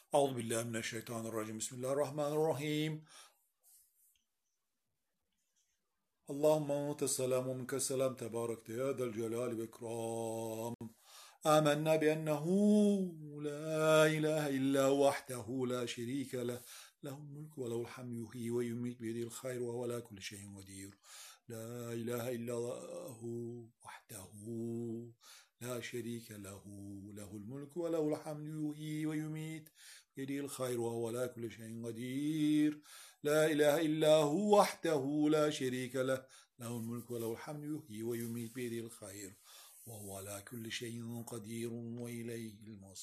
أعوذ بالله من الشيطان الرجيم. بسم الله الرحمن الرحيم. اللهم أنت السلام ومنك السلام، تبارك يا ذا الجلال والإكرام. آمنا بأنه لا إله إلا هو وحده لا شريك له، له الملك وله الحمد، يحيي ويميت بيده الخير وهو على كل شيء قدير. لا إله إلا هو وحده لا شريك له، له الملك وله الحمد، يحيي ويميت بيده الخير وهو على كل شيء قدير. لا إله إلا هو وحده لا شريك له، له الملك وله الحمد، يحيي ويميت بيده الخير وهو على كل شيء قدير وإليه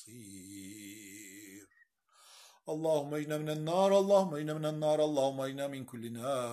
المصير. اللهم اجنا من النار، اللهم اجنا من النار، اللهم اجنا من كل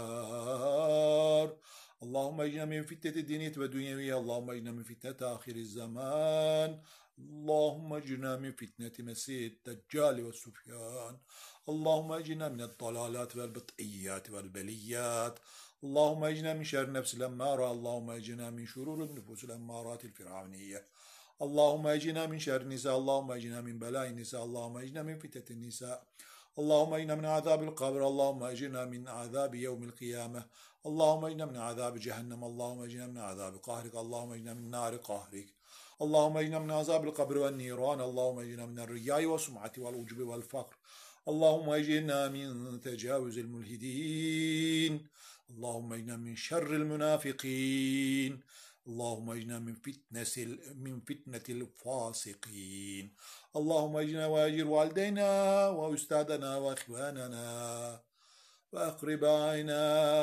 نار. اللهم اجنا من فتنة الدنيا والدنيا، اللهم اجنا من فتنة آخر الزمان. اللهم اجنا من فتنة مسيح الدجال والسفيان. اللهم اجنا من الضلالات والبطئيات والبليات. اللهم اجنا من شر نفس الأمارة. اللهم اجنا من شرور النفوس الأمارات الفرعونية. اللهم اجنا من شر النساء. اللهم اجنا من بلاء النساء. اللهم اجنا من فتنة النساء. اللهم اجنا من عذاب القبر. اللهم اجنا من عذاب يوم القيامة. اللهم اجنا من عذاب جهنم. اللهم اجنا من عذاب قهرك. اللهم اجنا من نار قهرك. اللهم اجنا من عذاب القبر والنيران. اللهم اجنا من الرياء والسمعة والعجب والفقر. اللهم اجنا من تجاوز الملحدين. اللهم اجنا من شر المنافقين. اللهم اجنا من فتنة الفاسقين. اللهم اجنا واجر والدينا وأستاذنا وإخواننا وأقربائنا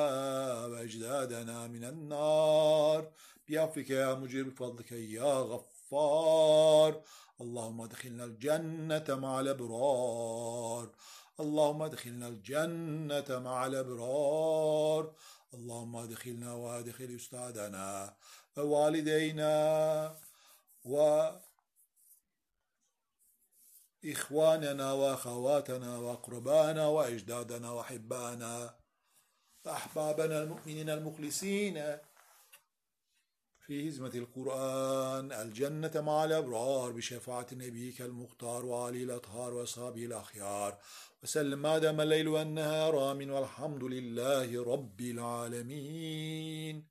وأجدادنا من النار بعفوك يا مجير، بفضلك يا غفار. اللهم ادخلنا الجنة مع الأبرار. اللهم ادخلنا الجنة مع الأبرار. اللهم ادخلنا وادخل أستاذنا ووالدينا وإخواننا وأخواتنا وأقربانا وأجدادنا وأحبانا وأحبابنا المؤمنين المخلصين في هزمة القرآن الجنة مع الأبرار بشفاعة نبيك المختار وعلي الأطهار وأصحابه الأخيار، وسلم ما دام الليل والنهار. آمين والحمد لله رب العالمين.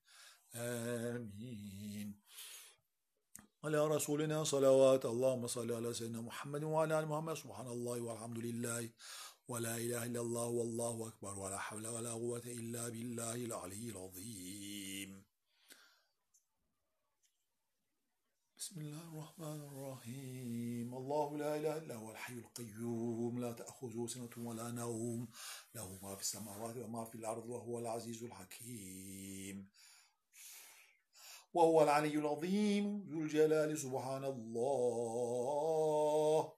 آمين. على رسولنا صلوات. اللهم صل على سيدنا محمد وعلى آل محمد. سبحان الله والحمد لله ولا إله إلا الله والله أكبر ولا حول ولا قوة إلا بالله العلي العظيم. بسم الله الرحمن الرحيم. الله لا إله إلا هو الحي القيوم، لا تأخذه سنة ولا نوم، له ما في السماوات وما في الأرض، وهو العزيز الحكيم، وهو العلي العظيم ذو الجلال. سبحان الله.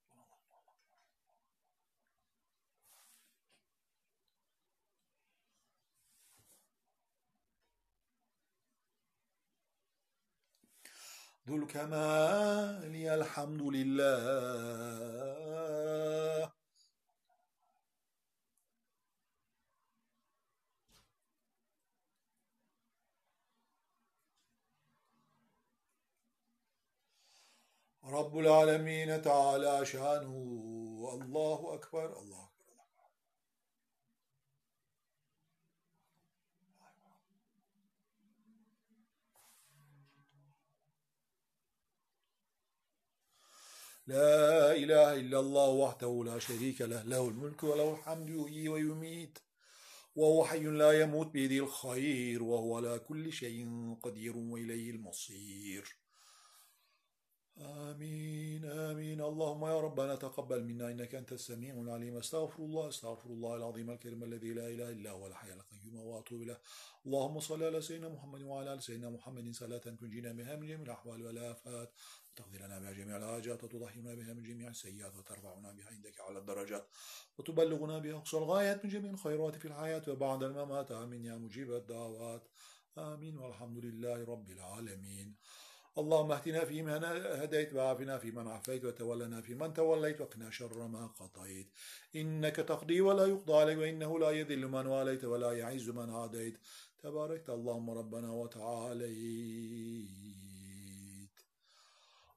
ذو الكمال الحمد لله. رب العالمين تعالى شانه. الله أكبر. الله أكبر. لا إله إلا الله وحده لا شريك له، له الملك وله الحمد، يحيي ويميت وهو حي لا يموت بيده الخير وهو على كل شيء قدير وإليه المصير. آمين آمين. اللهم يا ربنا تقبل منا إنك أنت السميع العليم. أستغفر الله العظيم الكريم الذي لا إله إلا هو الحي القيوم وأتوب إليه. اللهم صل على سيدنا محمد وعلى آل سيدنا محمد صلاة تنجينا بها من جميع الأحوال والآفات، وتقضي لنا بها جميع الحاجات، وتضحينا بها من جميع السيئات، وترفعنا بها عندك على الدرجات، وتبلغنا بها أقصى الغايات من جميع الخيرات في الحياة وبعد الممات. آمين يا مجيب الدعوات. آمين والحمد لله رب العالمين. اللهم اهدنا فيمن هديت، وعافنا فيمن عافيت، وتولنا فيمن توليت، وقنا شر ما قضيت. إنك تقضي ولا يقضى عليك، وإنه لا يذل من واليت ولا يعز من عاديت. تباركت اللهم ربنا وتعاليت.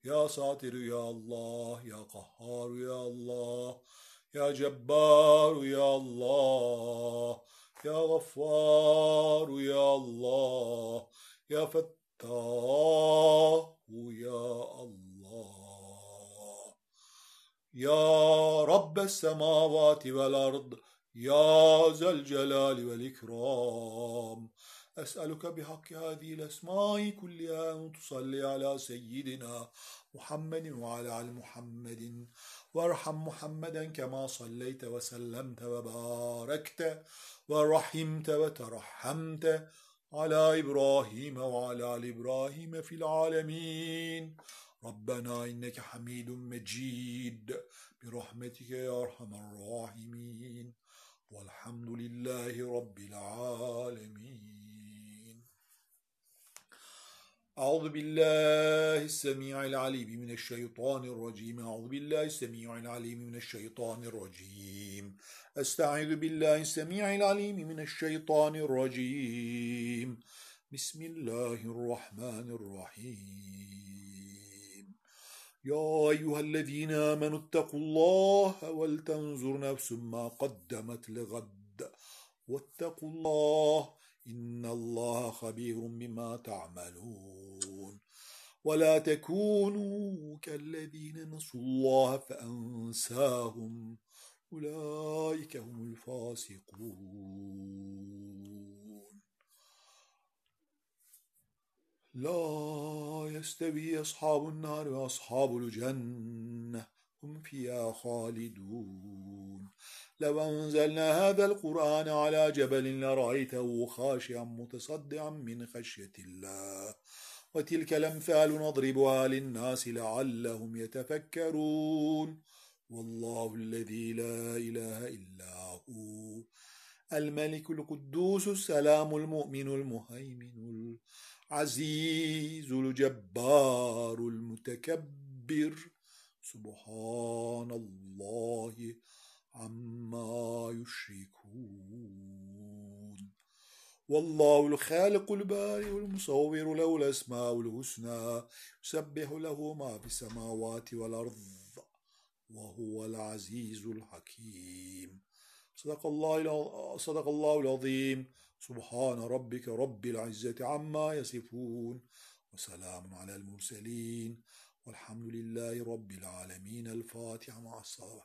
يا ساتر يا الله، يا قهار يا الله، يا جبار يا الله، يا غفار يا الله، يا فتاح يا الله، يا رب السماوات والأرض، يا ذا الجلال والإكرام، أسألك بحق هذه الأسماء كلها أن تصلي على سيدنا محمد وعلى آل محمد، وارحم محمدا كما صليت وسلمت وباركت ورحمت وترحمت على إبراهيم وعلى آل إبراهيم في العالمين. ربنا إنك حميد مجيد برحمتك يا أرحم الراحمين، والحمد لله رب العالمين. أعوذ بالله السميع العليم من الشيطان الرجيم. أعوذ بالله السميع العليم من الشيطان الرجيم. أستعيذ بالله السميع العليم من الشيطان الرجيم. بسم الله الرحمن الرحيم. يا أيها الذين آمنوا اتقوا الله ولتنظر نفس ما قدمت لغد واتقوا الله إن الله خبير بما تعملون. ولا تكونوا كالذين نسوا الله فأنساهم أولئك هم الفاسقون. لا يستوي أصحاب النار وأصحاب الجنة هم فيها خالدون. لو أنزلنا هذا القرآن على جبل لرأيته خاشعا متصدعا من خشية الله. وتلك الأمثال نضربها للناس لعلهم يتفكرون. والله الذي لا إله إلا هو الملك القدوس السلام المؤمن المهيمن العزيز الجبار المتكبر سبحان الله عما يشركون. والله الخالق البارئ المصور له الأسماء الحسنى يسبح له ما في السماوات والأرض وهو العزيز الحكيم. صدق الله العظيم. سبحان ربك رب العزة عما يصفون وسلام على المرسلين والحمد لله رب العالمين. الفاتحة مع الصلاة.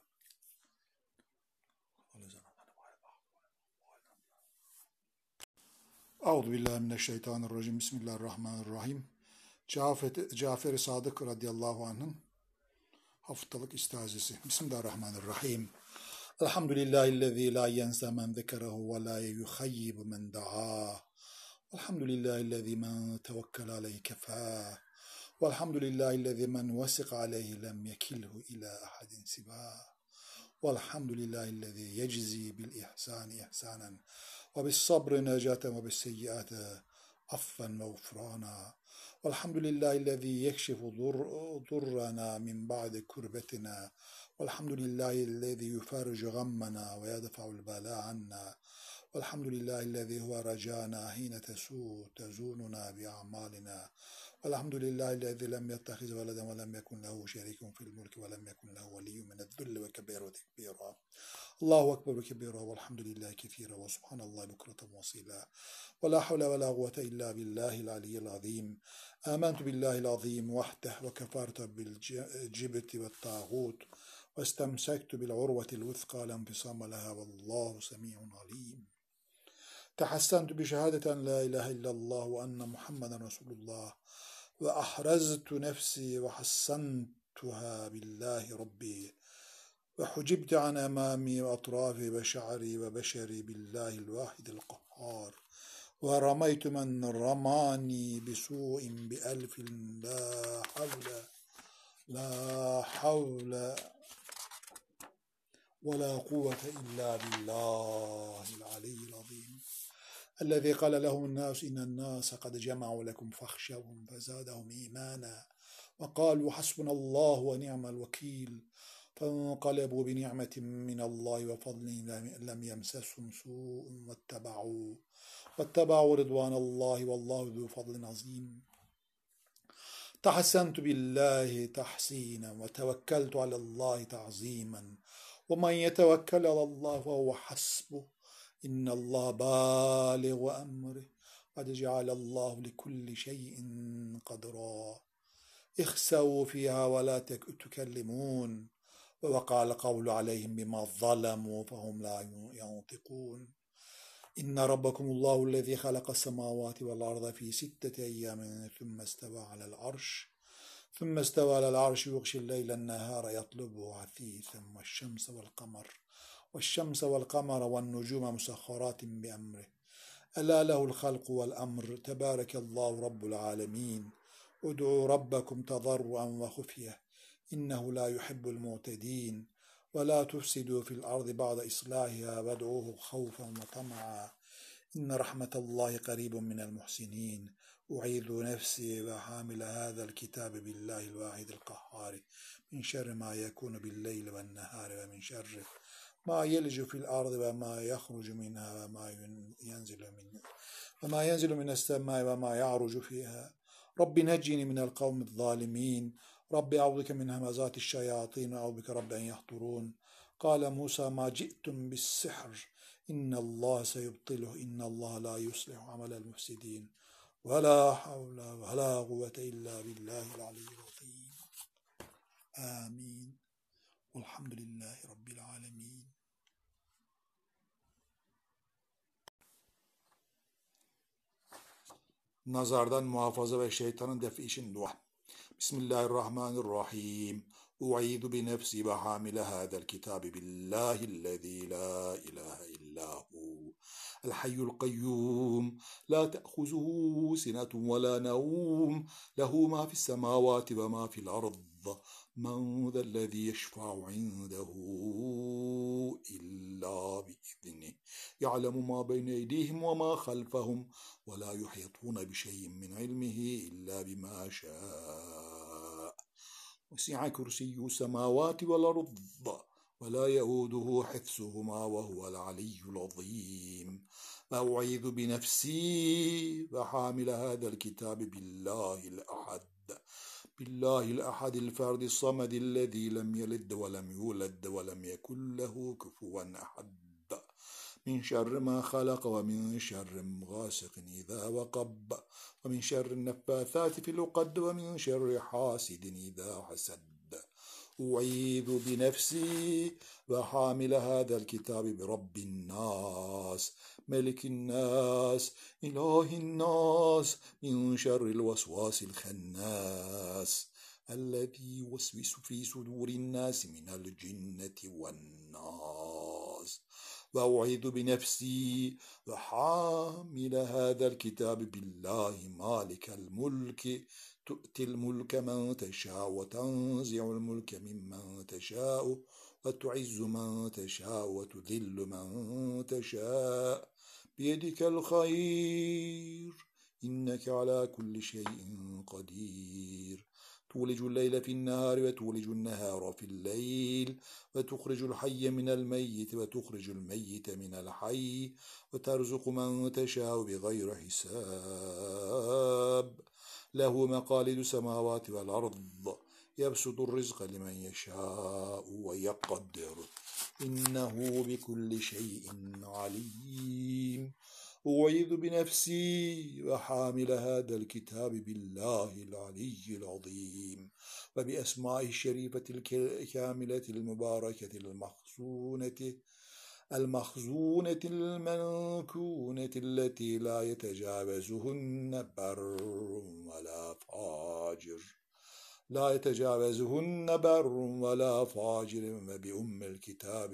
أعوذ بالله من الشيطان الرجيم. بسم الله الرحمن الرحيم. Cafer-i Sadık radıyallahu anh'ın haftalık istazesi. Bismillahirrahmanirrahim. Elhamdülillahillezî la yense men zekerehu ve la yuhayyibu men da'ah. Elhamdülillahillezî men tevekkele aleyhi kefâh. Velhamdülillahillezî men vesika aleyhi lem yekilhu ila ahadin sivâh. Velhamdülillahillezî yeczi bil ihsani ihsanen ve bis sabri necaten ve bis seyyiati affen ve gufrana. Velhamdülillahillezî yekşifu durrana min ba'di kurbetina. Velhamdülillahillezî yufarricu gammana ve yedfa'ul bala anna. Velhamdülillahillezî huve racana hine tezununa bi a'malina. Velhamdülillahillezî lem yettehiz veleden ve lem yekun lehu şerikun fil mulki ve lem yekun lehu veliyyun mine'z-zulli ve kebiru tekbira. Allahu ekber ve kebira velhamdülillahi kethira ve subhanallahi bukratan ve asila. Ve la havle ve la kuvvete illa billahil aliyyil azim. Âmentu billahil azim vahdeh ve kefartu bil cibti ve tağut ve istemsektu bil urvetil vuthqa la enfisama leha vallahu semi'un alim. تحسنت بشهادة أن لا إله إلا الله وأن محمدا رسول الله وأحرزت نفسي وحسنتها بالله ربي وحجبت عن أمامي وأطرافي وشعري وبشري بالله الواحد القهار ورميت من رماني بسوء بألف لا حول ولا قوة إلا بالله العلي العظيم الذي قال لهم الناس إن الناس قد جمعوا لكم فاخشوهم فزادهم إيمانا وقالوا حسبنا الله ونعم الوكيل فانقلبوا بنعمة من الله وفضل لم يمسسهم سوء واتبعوا رضوان الله والله ذو فضل عظيم. تحسنت بالله تحسينا وتوكلت على الله تعظيما ومن يتوكل على الله فهو حسبه إن الله بالغ أمره قد جعل الله لكل شيء قدرا اخسوا فيها ولا تكلمون ووقع القول عليهم بما ظلموا فهم لا ينطقون إن ربكم الله الذي خلق السماوات والأرض في 6 أيام ثم استوى على العرش يغشي الليل النهار يطلبه عثيثا والشمس والقمر والنجوم مسخرات بأمره ألا له الخلق والأمر تبارك الله رب العالمين ادعوا ربكم تضرعا وخفية إنه لا يحب المعتدين ولا تفسدوا في الأرض بعد إصلاحها وادعوه خوفا وطمعا إن رحمة الله قريب من المحسنين أعيذ نفسي وحامل هذا الكتاب بالله الواحد القهار من شر ما يكون بالليل والنهار ومن شر ما يلج في الأرض وما يخرج منها وما ينزل من السماء وما يعرج فيها رب نجني من القوم الظالمين رب أعوذ بك من همزات الشياطين وأعوذ بك رب أن يحضرون قال موسى ما جئتم بالسحر إن الله سيبطله إن الله لا يصلح عمل المفسدين ولا حول ولا قوة إلا بالله العلي العظيم آمين والحمد لله رب العالمين. Nazardan muhafaza ve şeytanın defi için dua. Bismillahirrahmanirrahim. U'idhu bi nefsi ve hamile hadel kitabi billahillezî la ilahe illahu. El hayyul kayyum. La te'huzuhu sinetun ve la nevm. Lehu ma fis semavati ve ma fil ard. من ذا الذي يشفع عنده إلا بإذنه يعلم ما بين أيديهم وما خلفهم ولا يحيطون بشيء من علمه إلا بما شاء وسع كرسي السماوات والأرض ولا يؤوده حفظهما وهو العلي العظيم أعوذ بنفسي وحامل هذا الكتاب بالله الأحد الفرد الصمد الذي لم يلد ولم يولد ولم يكن له كفوا أحد من شر ما خلق ومن شر غاسق إذا وقب ومن شر النفاثات في العقد ومن شر حاسد إذا حسد أعيذ بنفسي وحامل هذا الكتاب برب الناس ملك الناس إله الناس من شر الوسواس الخناس الذي يوسوس في صدور الناس من الجنة والناس وأعيذ بنفسي وحامل هذا الكتاب بالله مالك الملك تؤتي الملك من تشاء وتنزع الملك ممن تشاء وتعز من تشاء وتذل من تشاء بيدك الخير إنك على كل شيء قدير تولج الليل في النهار وتولج النهار في الليل وتخرج الحي من الميت وتخرج الميت من الحي وترزق من تشاء بغير حساب له مقاليد السماوات والأرض يبسط الرزق لمن يشاء ويقدر إنه بكل شيء عليم أعيذ بنفسي وحامل هذا الكتاب بالله العلي العظيم وبأسمائه الشريفة الكاملة المباركة المخزونة المنكونة التي لا يتجاوزهن بر ولا فاجر وبأم الكتاب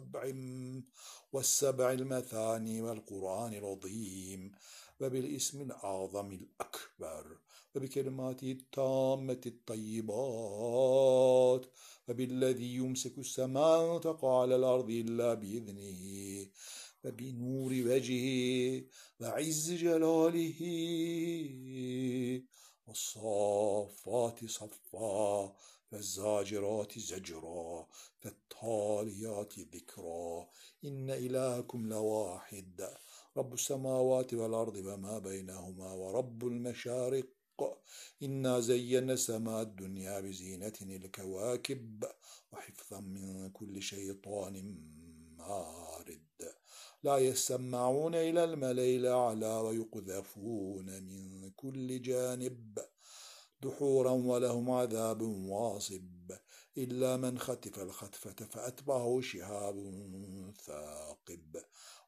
والسبع المثاني والقرآن العظيم وبالاسم الأعظم الأكبر وبكلماته التامة الطيبات وبالذي يمسك السماء تقع على الأرض إلا بإذنه وبنور وجهه وعز جلاله والصافات صفا فالزاجرات زجرا فالتاليات ذكرا إن إلهكم لواحد رب السماوات والأرض وما بينهما ورب المشارق إنا زينا السماء الدنيا بزينة الكواكب وحفظا من كل شيطان مارد لا يسمعون إلى الملأ الأعلى ويقذفون من كل جانب دحورا ولهم عذاب واصب إلا من خطف الخطفة فأتبعه شهاب ثاقب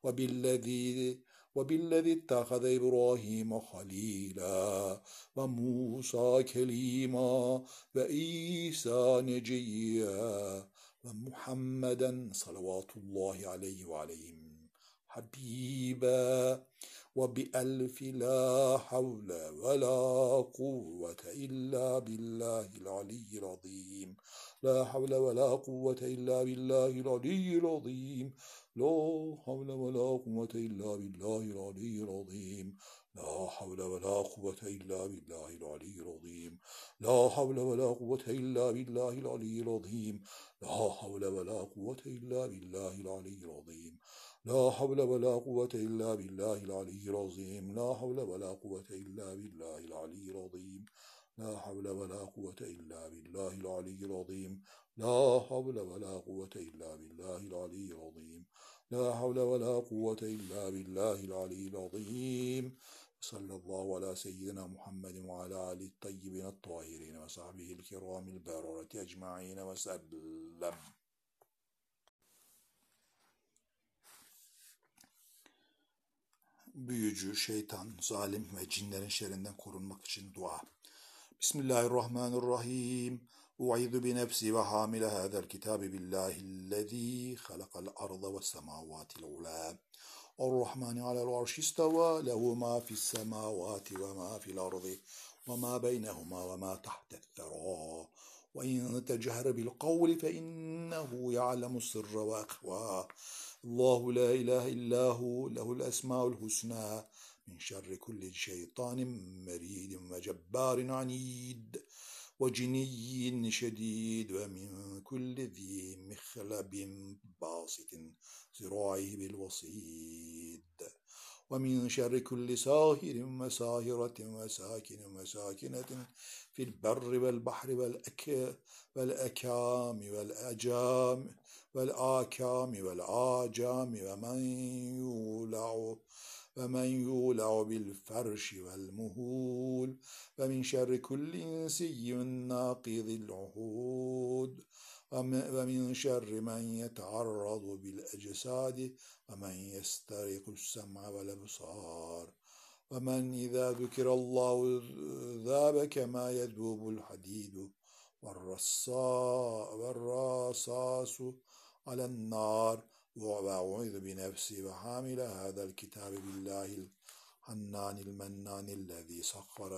وبالذي اتخذ إبراهيم خليلا وموسى كليما وعيسى نجيا ومحمدا صلوات الله عليه وعليهم حبيبا وبألف لا حول ولا قوة إلا بالله العلي العظيم لا حول ولا قوة إلا بالله العلي العظيم لا حول ولا قوة إلا بالله العلي العظيم لا حول ولا قوة إلا بالله العلي العظيم لا حول ولا قوة إلا بالله العلي العظيم لا حول ولا قوة إلا بالله العلي العظيم لا حول ولا قوة إلا بالله العلي العظيم لا حول ولا قوة إلا بالله العلي العظيم لا حول ولا قوة إلا بالله العلي العظيم لا حول ولا قوة إلا بالله العلي العظيم لا حول ولا قوة إلا بالله العلي العظيم صلى الله على سيدنا محمد وعلى آله الطيبين الطاهرين وصحبه الكرام البررة أجمعين وسلم. Büyücü, şeytan, zalim ve cinlerin şerrinden korunmak için dua. Bismillahirrahmanirrahim. U'idhu bi nefsi ve hamile hâzel kitabi billahillezî halakal arda ve semâvâtil ulâ. Ar-Rahmani alel arşi istevâ lehu mâ fissemâvâti ve mâ fil ardi ve mâ beynehumâ ve mâ tahte'th-therâ. وإن تجهر بالقول فإنه يعلم السر وأخفى الله لا إله إلا هو له الأسماء الحسنى من شر كل شيطان مريد وجبار عنيد وجني شديد ومن كل ذي مخلب باسط ذراعه بالوصيد ومن شر كل ساهر وساهرة وساكن وساكنة في البر والبحر والأكام والآجام ومن يولع بالفرش والمهول ومن شر كل إنسي ناقض العهود ومن شر من يتعرض بالأجساد ومن يسترق السمع والأبصار ومن إذا ذكر الله ذاب كما يذوب الحديد والرصاص على النار وأعوذ بنفسي وحامل هذا الكتاب بالله الحنان المنان الذي سخر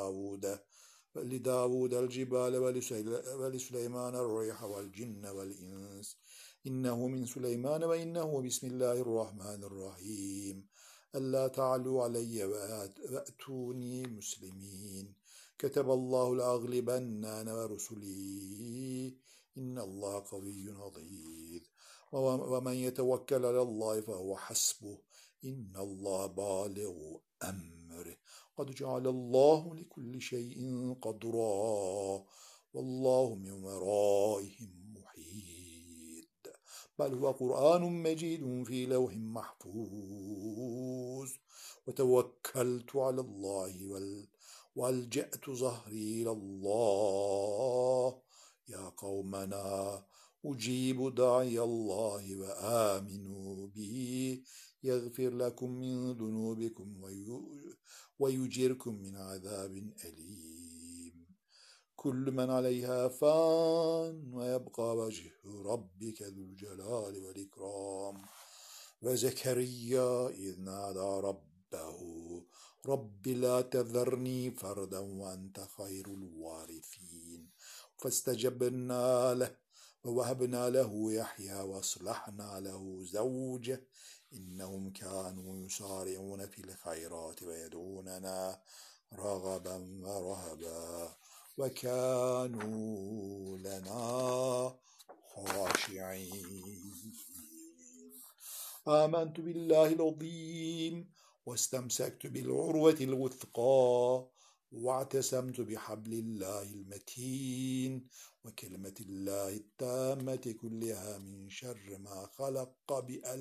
لداود الجبال ولسليمان الريح والجن والإنس إنه من سليمان وإنه بسم الله الرحمن الرحيم ألا تعلوا علي وأتوني مسلمين كتب الله لأغلبن أنا ورسلي إن الله قوي عزيز ومن يتوكل على الله فهو حسبه إن الله بالغ أمره قد جعل الله لكل شيء قدرا والله من ورائهم محيط بل هو قرآن مجيد في لوح محفوظ وتوكلت على الله والجأت ظهري إلى الله يا قومنا أجيب داعي الله وآمنوا به يغفر لكم من ذنوبكم ويجيركم من عذاب أليم كل من عليها فان ويبقى وجه ربك ذو الجلال والإكرام وزكريا إذ نادى ربه رب لا تذرني فردا وأنت خير الوارثين فاستجبنا له ووهبنا له يحيى وأصلحنا له زوجه إنهم كانوا يسارعون في الخيرات ويدعوننا رغبا ورهبا وكانوا لنا خاشعين آمنت بالله العظيم واستمسكت بالعروة الوثقى واعتصمت بحبل الله المتين وكلمة الله التامة كلها من شر ما خلق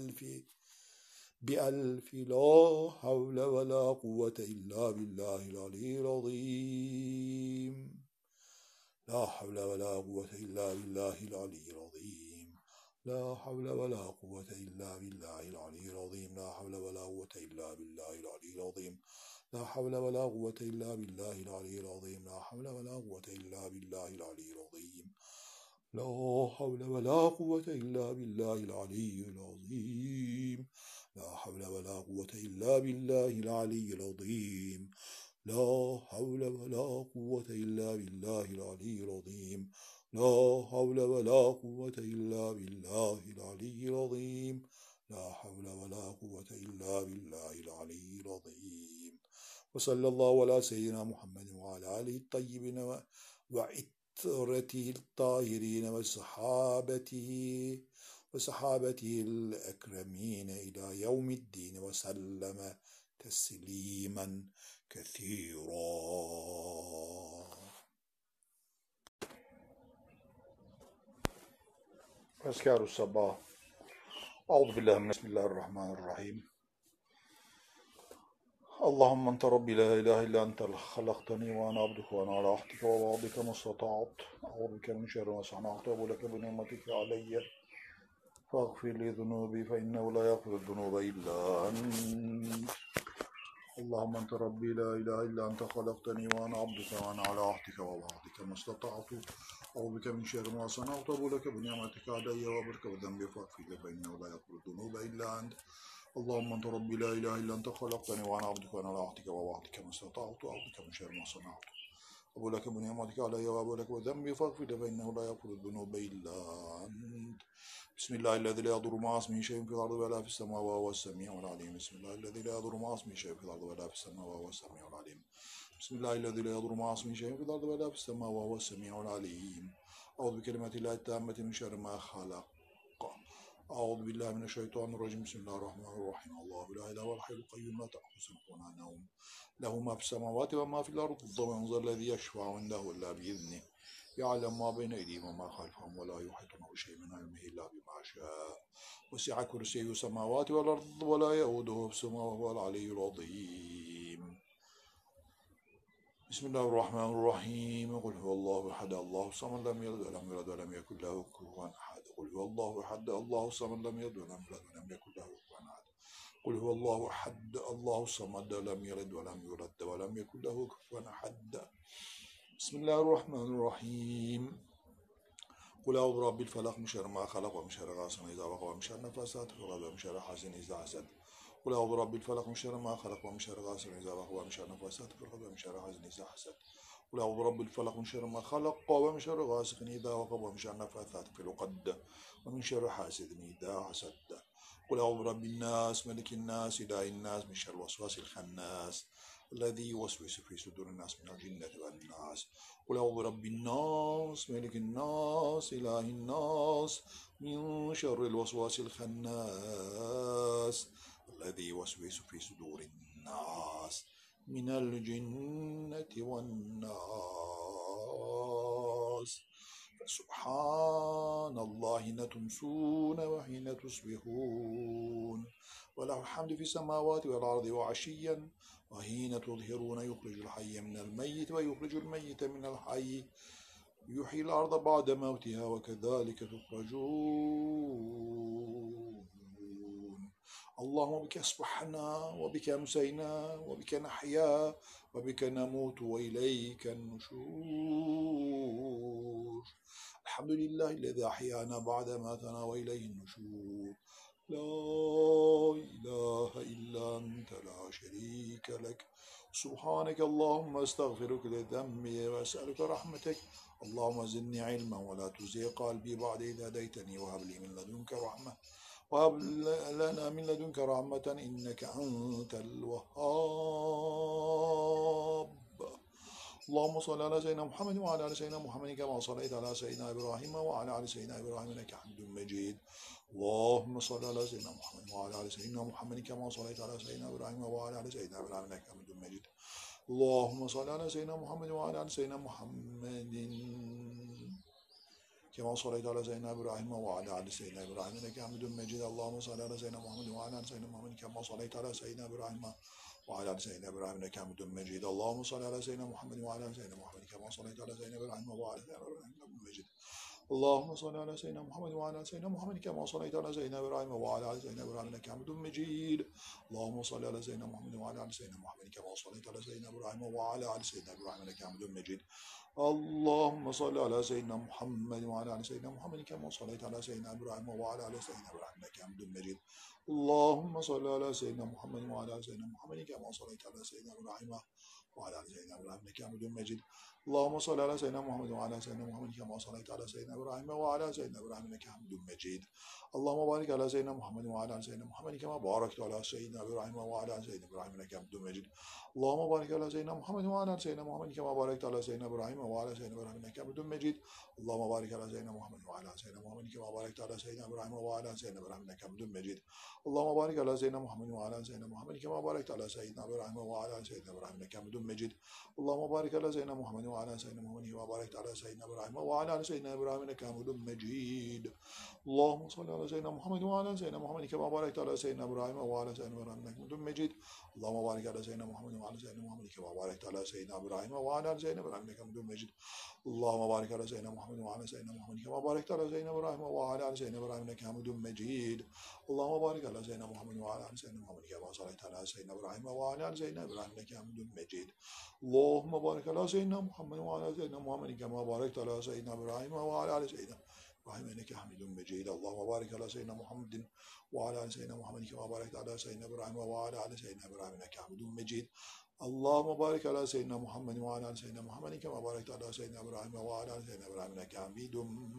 بألف لا حول ولا قوة إلا بالله العلي العظيم. لا حول ولا قوة إلا بالله العلي العظيم. لا حول ولا قوة إلا بالله العلي العظيم. لا حول ولا قوة إلا بالله العلي العظيم. لا حول ولا قوة إلا بالله العلي العظيم. لا حول ولا قوة إلا بالله العلي العظيم. لا حول ولا قوة إلا بالله العلي العظيم. لا حول ولا قوة إلا بالله العلي العظيم. لا حول ولا قوة إلا بالله العلي العظيم. لا حول ولا قوة إلا بالله العلي العظيم. لا حول ولا قوة إلا بالله العلي العظيم. وصلى الله على سيدنا محمد وعلى آله الطيبين وعترته الطاهرين وصحابته الأكرمين إلى يوم الدين وسلم تسليما كثيرا. أذكار الصباح. أعوذ بالله من بسم الله الرحمن الرحيم. اللهم أنت ربي لا إله إلا أنت خلقتني وأنا عبدك وأنا على عهدك ووعدك ما استطعت. أعوذ بك من شر ما صنعت وأبو بنعمتك علي فاغفر لي ذنوبي فإنه لا يغفر الذنوب إلا أنت. اللهم أنت ربي لا إله إلا أنت خلقتني وأنا عبدك وأنا على عهدك ووعدك ما استطعت. أعوذ بك من شر ما صنعت وأبو بنعمتك علي وأبرك وذنبي فاغفر لي فإنه لا يغفر الذنوب إلا أنت. اللهم أنت ربي لا إله إلا أنت خلقتني وأنا عبدك وأنا على عهدك ووعدك ما استطعت. أعوذ بك من شر ما صنعت أبو لك بنعمتك علي وأبو لك وذنبي فاغفر لي فإنه لا يغفر الذنوب إلا أنت. بسم الله الذي لا يضر مع اسمه شيء في الأرض ولا في السماء وهو السميع العليم. بسم الله الذي لا يضر مع اسمه شيء في الأرض ولا في السماء وهو السميع العليم. بسم الله الذي لا يضر مع اسمه شيء في الأرض ولا في السماء وهو السميع العليم. أعوذ بكلمات الله التامة من شر ما خلق. أعوذ بالله من الشيطان الرجيم. بسم الله الرحمن الرحيم. الله لا إله إلا هو الحي القيوم لا تأخذه سنة ولا نوم له ما في السماوات وما في الأرض. من ذا الذي يشفع عنده إلا بإذنه يعلم ما بين أيديهم وما خلفهم ولا يحيطون بشيء من علمه إلا بما شاء. وسع كرسيه السماوات والأرض ولا يؤوده حفظهما وهو العلي العظيم. بسم الله الرحمن الرحيم. قل هو الله أحد الله الصمد لم يلد ولم يولد ولم يكن له كفوا أحد. قل هو الله أحد الله الصمد لم يلد ولم يولد ولم يكن له كفوا أحد. قل هو الله أحد الله الصمد لم يلد ولم يولد ولم يكن له كفوا أحد. بسم الله الرحمن الرحيم. قل أعوذ برب الفلق من شر ما خلق ومن شر غاسق إذا وقب ومن شر النفاثات في العقد ومن شر حاسد إذا حسد. قل أعوذ برب الفلق من شر ما خلق ومن شر غاسق إذا وقب ومن شر النفاثات في العقد ومن شر حاسد إذا حسد. قل أعوذ برب الفلق من شر ما خلق ومن شر غاسق إذا وقب ومن شر النفاثات في العقد ومن شر حاسد إذا حسد. قل أعوذ برب الناس ملك الناس إله الناس من شر الوسواس الخناس الذي يوسوس في صدور الناس من الجنة والناس. قل أعوذ برب الناس ملك الناس إله الناس من شر الوسواس الخناس الذي يوسوس في صدور الناس من الجنة والناس. سبحان الله حين تمسون وحين تصبحون وله الحمد في السماوات والأرض وعشيا وحين تظهرون يخرج الحي من الميت ويخرج الميت من الحي يحيي الأرض بعد موتها وكذلك تخرجون. اللهم بك أصبحنا وبك أمسينا وبك نحيا وبك نموت وإليك النشور. الحمد لله الذي أحيانا بعد ماتنا وإليه النشور. لا إله إلا أنت لا شريك لك. سبحانك اللهم استغفرك لذنبي وأسألك رحمتك. اللهم زدني علما ولا تزغ قلبي بعد إذ هديتني وهب لي من لدنك رحمة وهب لنا من لدنك رحمة إنك أنت الوهاب. اللهم صل على سيدنا محمد وعلى آل سيدنا محمد كما صليت على سيدنا إبراهيم وعلى آل سيدنا إبراهيم إنك حميد مجيد. اللهم صل على سيدنا محمد وعلى آل سيدنا محمد كما صليت على سيدنا إبراهيم وعلى آل سيدنا إبراهيم إنك حميد مجيد. اللهم صل على سيدنا محمد وعلى آل سيدنا محمد كما صليت على سيدنا إبراهيم وعلى آل سيدنا إبراهيم إنك حميد مجيد. اللهم صل على سيدنا محمد وعلى آل سيدنا محمد كما صليت على سيدنا إبراهيم وعلى آل سيدنا إبراهيم إنك حميد مجيد. اللهم صل على سيدنا محمد وعلى آل سيدنا محمد كما صليت على سيدنا إبراهيم وعلى آل سيدنا إبراهيم إنك حميد مجيد. اللهم صل على سيدنا محمد وعلى آل سيدنا محمد كما صليت على سيدنا إبراهيم وعلى آل سيدنا إبراهيم إنك حميد مجيد. اللهم صل على سيدنا محمد وعلى آل سيدنا محمد كما صليت على سيدنا إبراهيم وعلى آل سيدنا إبراهيم إنك حميد مجيد. اللهم صل على سيدنا محمد وعلى آل سيدنا محمد كما صليت على سيدنا إبراهيم وعلى آل سيدنا إبراهيم إنك حميد مجيد. اللهم صل على سيدنا محمد وعلى آل سيدنا محمد كما صليت على سيدنا إبراهيم وعلى آل سيدنا إبراهيم إنك حميد مجيد. اللهم صل على سيدنا محمد وعلى آل سيدنا محمد كما صليت على سيدنا إبراهيم وعلى آل سيدنا إبراهيم إنك حميد مجيد. اللهم بارك على سيدنا محمد وعلى آل سيدنا محمد كما باركت على سيدنا إبراهيم وعلى آل سيدنا إبراهيم إنك حميد مجيد. اللهم بارك على سيدنا محمد وعلى آل سيدنا محمد كما باركت على سيدنا إبراهيم وعلى آل سيدنا إبراهيم إنك حميد مجيد. اللهم بارك على سيدنا محمد وعلى آل سيدنا محمد كما باركت على سيدنا إبراهيم وعلى آل سيدنا إبراهيم إنك حميد مجيد. اللهم بارك على سيدنا محمد وعلى آل سيدنا محمد كما باركت على سيدنا إبراهيم وعلى آل سيدنا إبراهيم إنك حميد مجيد. اللهم بارك على سيدنا محمد وعلى آل سيدنا محمد كما باركت على سيدنا إبراهيم وعلى آل سيدنا إبراهيم إنك حميد مجيد. اللهم صل على سيدنا محمد وعلى آل سيدنا محمد كما باركت على سيدنا إبراهيم وعلى آل سيدنا إبراهيم إنك حميد مجيد. اللهم بارك على سيدنا محمد وعلى سيدنا محمد كما باركت على سيدنا إبراهيم وعلى آل سيدنا إبراهيم إنك حميد مجيد. اللهم بارك على سيدنا محمد وعلى سيدنا محمد كما باركت على سيدنا إبراهيم وعلى آل سيدنا إبراهيم إنك حميد مجيد. اللهم بارك على سيدنا محمد وعلى آل سيدنا محمد كما صليت على سيدنا إبراهيم وعلى آل سيدنا إبراهيم إنك حميد مجيد. اللهم بارك على سيدنا محمد وعلى آل سيدنا محمد كما باركت على سيدنا إبراهيم وعلى آل سيدنا إبراهيم إنك حميد مجيد. اللهم بارك على سيدنا محمد وعلى آل سيدنا محمد كما باركت على سيدنا إبراهيم وعلى آل سيدنا إبراهيم إنك حميد مجيد. اللهم بارك على سيدنا محمد وعلى آل سيدنا محمد كما باركت على سيدنا إبراهيم وعلى آل سيدنا إبراهيم إنك حميد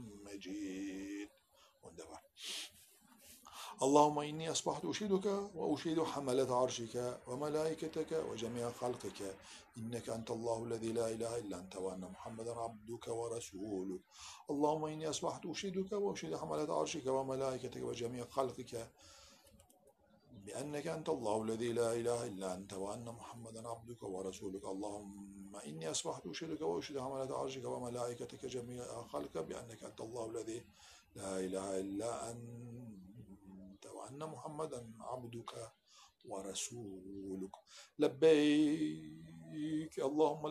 مجيد. Wunderbar. اللهم إني أصبحت أشهدك وأشهد حملة عرشك وملائكتك وجميع خلقك إنك أنت الله الذي لا إله إلا أنت وأن محمدا عبدك ورسولك. اللهم إني أصبحت أشهدك وأشهد حملة عرشك وملائكتك وجميع خلقك بأنك أنت الله الذي لا إله إلا أنت وأن محمدا عبدك ورسولك. اللهم إني أصبحت أشهدك وأشهد حملة عرشك وملائكتك جميع خلقك بأنك أنت الله الذي لا إله إلا أنت وأن محمدا عبدك ورسولك. لبيك اللهم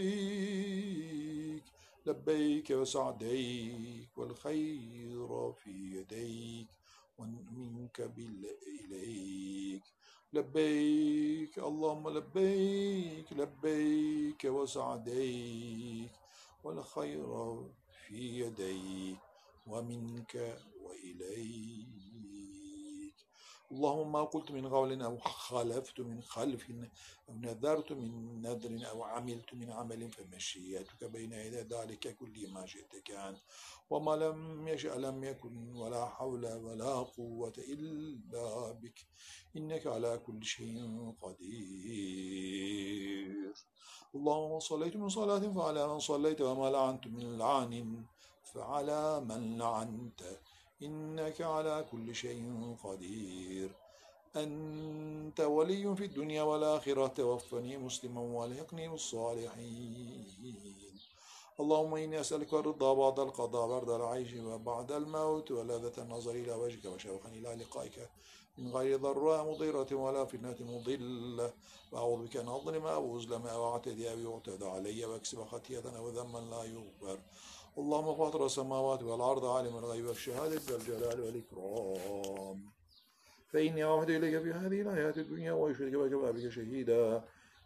لبيك لبيك وسعديك والخير في يديك ومنك إليك. لبيك اللهم لبيك لبيك وسعديك والخير في يديك ومنك وإليك. اللهم ما قلت من قول أو خالفت من خلف أو نذرت من نذر أو عملت من عمل فمشيئتك بين يدي ذلك كل ما شئت كان وما لم يشأ لم يكن ولا حول ولا قوة إلا بك إنك على كل شيء قدير. اللهم صليت من صلاة فعلى من صليت وما لعنت من لعن فعلى من لعنت إنك على كل شيء قدير. أنت ولي في الدنيا والآخرة توفني مسلما والحقني بالصالحين. اللهم إني أسألك الرضا بعد القضاء برد العيش وبعد الموت ولذة النظر إلى وجهك وشوقا إلى لقائك من غير ضراء مضيرة ولا فتنة مضلة. وأعوذ بك أن أظلم أو أظلم أو أعتدي أو يعتدى علي وأكسب خطيئة أو ذما لا يغفر. اللهم فاطر السماوات والأرض عالم الغيب والشهادة ذا الجلال والإكرام. فإني أعهد إليك في هذه الحياة الدنيا وأشهدك وكفى بك شهيدا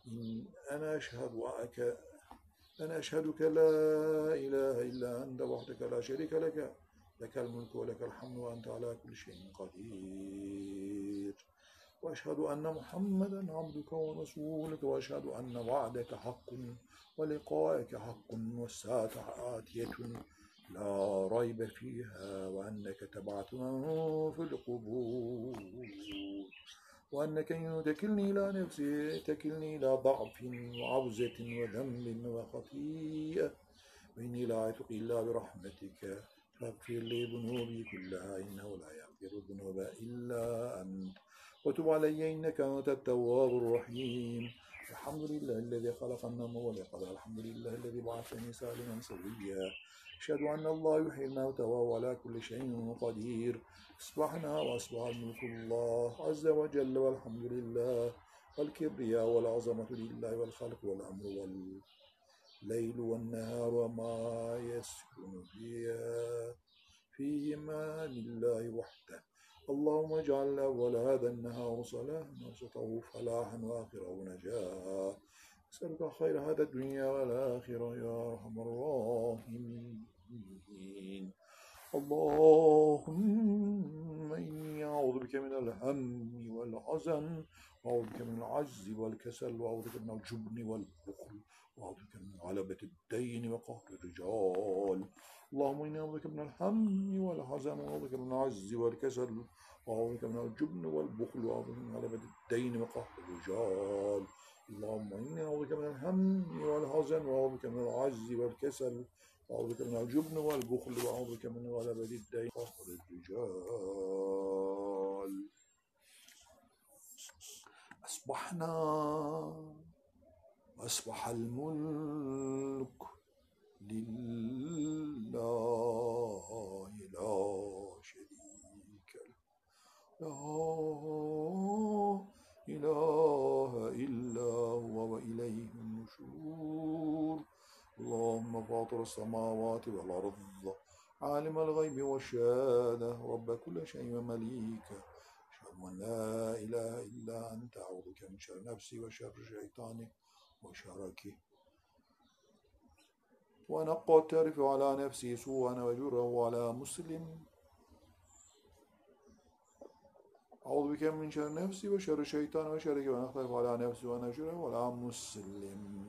أنا أشهدك لا إله إلا أنت وحدك لا شريك لك لك الملك ولك الحمد وأنت على كل شيء قدير. وأشهد أن محمدا عبدك ورسولك وأشهد أن وعدك حق ولقائك حق والساعة آتية لا ريب فيها وأنك تبعث من في القبور وأنك إن تكلني إلى نفسي تكلني إلى ضعف وعوزة وذنب وخطيئة وإني لا أثق إلا برحمتك فاغفر لي ذنوبي كلها إنه لا يغفر الذنوب إلا أنت وتب علي إنك أنت التواب الرحيم. الحمد لله الذي خلق النوم واليقظة. الحمد لله الذي بعثني سالما سويا. أشهد أن الله يحيي الموتى وهو على كل شيء قدير. أصبحنا وأصبح الملك الله عز وجل والحمد لله والكبرياء والعظمة لله والخلق والأمر والليل والنهار وما يسكن فيهما لله وحده. اللهم اجعل أول هذا النهار صلاحا ووسطه فلاحا وآخره نجاة. أسألك خير هذا الدنيا والآخرة يا أرحم الراحمين. اللهم إني أعوذ بك من الهم والحزن، وأعوذ بك من العجز والكسل، وأعوذ بك من الجبن والبخل، وأعوذ بك من غلبة الدين وقهر الرجال. اللهم إني أعوذ بك من الهم والحزن، وأعوذ بك من العجز والكسل، وأعوذ بك من الجبن والبخل، وأعوذ بك من غلبة الدين وقهر الرجال. اللهم إني أعوذ بك من الهم والحزن، وأعوذ بك من العجز والكسل، وأعوذ بك من الجبن والبخل، وأعوذ بك من غلبة الدين وقهر الرجال. أصبحنا وأصبح الملك لله لا شريك له، لا إله إلا هو وإليه النشور. اللهم فاطر السماوات والأرض، عالم الغيب والشهادة، رب كل شيء ومليكه، أشهد أن لا إله إلا أنت، أعوذ بك من شر نفسي وشر شيطاني وشركه، وأنا أقترف على نفسي سوءا وأجره على مسلم. أعوذ بك من شر نفسي وشر الشيطان وشركه، وأنا أقترف على نفسي وأنا أجره على مسلم.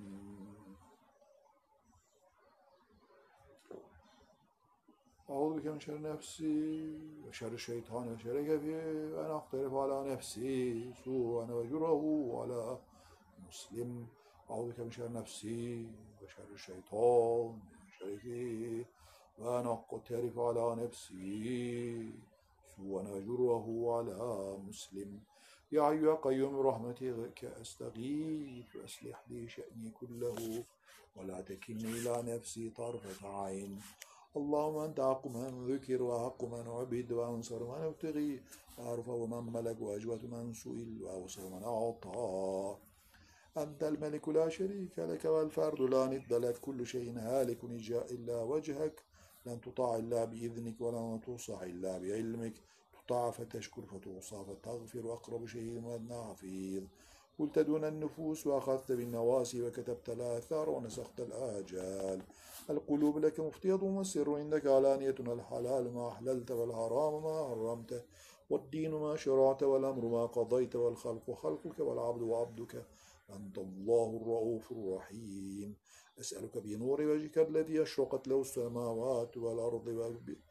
أعوذ بك من شر نفسي وشر الشيطان وشركه، وأنا أقترف على نفسي سوءا وأجره على مسلم. أعوذ بك من شر نفسي وشر الشيطان وشركه، وأنا أقترف على نفسي سوءا وأجره على مسلم. يا حي يا قيوم برحمتك أستغيث، وأصلح لي شأني كله ولا تكلني إلى نفسي طرفة عين. اللهم أنت حق من ذكر وحق من عبد وأنصر من ابتغي وأرفع من ملك وأجود من سئل وأوصى من أعطى. أنت الملك لا شريك لك والفرد لا ند لك، كل شيء هالك إلا وجهك، لن تطاع إلا بإذنك ولن توصى إلا بعلمك، تطاع فتشكر فتوصى فتغفر، وأقرب شيء وأدنى حفيظ. قلت دون النفوس وأخذت بالنواسي وكتبت الآثار ونسخت الآجال. القلوب لك مفضية والسر عندك علانية، الحلال ما أحللت والحرام ما حرمت، والدين ما شرعت والأمر ما قضيت، والخلق خلقك والعبد عبدك، أنت الله الرؤوف الرحيم. أسألك بنور وجهك الذي أشرقت له السماوات والأرض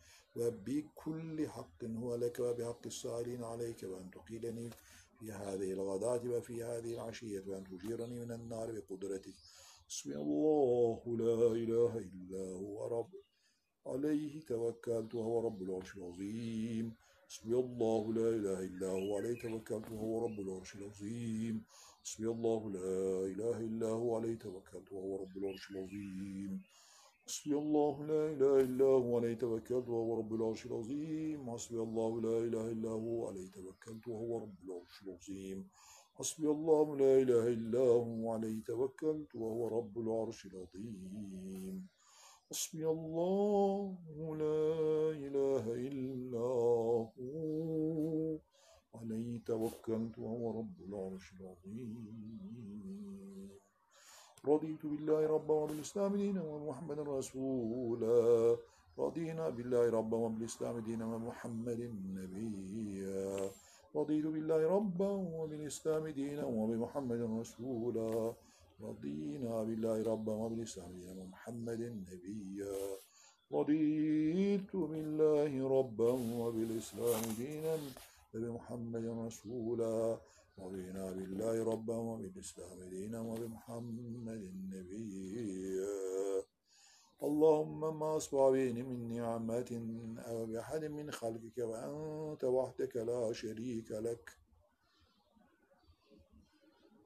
وبكل حق هو لك وبحق السائلين عليك، وأن تقيلني في هذه الغداة وفي هذه العشية، وأن تجيرني من النار بقدرتك. حسبي الله لا إله إلا هو رب عليه توكلت وهو رب العرش العظيم. حسبي الله لا إله إلا هو عليه توكلت وهو رب العرش العظيم. حسبي الله لا إله إلا هو عليه توكلت وهو رب العرش العظيم. حسبي الله لا إله إلا هو عليه توكلت وهو رب العرش العظيم. حسبي الله لا إله إلا هو عليه توكلت وهو رب العرش العظيم. حسبي الله لا إله إلا هو عليه توكلت وهو رب العرش العظيم. حسبي الله لا إله إلا هو عليه توكلت وهو رب العرش العظيم. رضيت بالله ربا وبالإسلام دينا ومحمد رسولا. رضينا بالله ربا وبالإسلام دينا ومحمد نبيا. رضيت بالله ربا وبالإسلام دينا وبمحمد رسولا. رضينا بالله ربا وبالإسلام دينا ومحمد نبيا. رضيت بالله ربا وبالإسلام دينا وبمحمد رسولا. رضينا بالله ربا وبالإسلام دينا وبمحمد نبيا. اللهم ما أصبح بي من نعمة أو بأحد من خلقك وأنت وحدك لا شريك لك،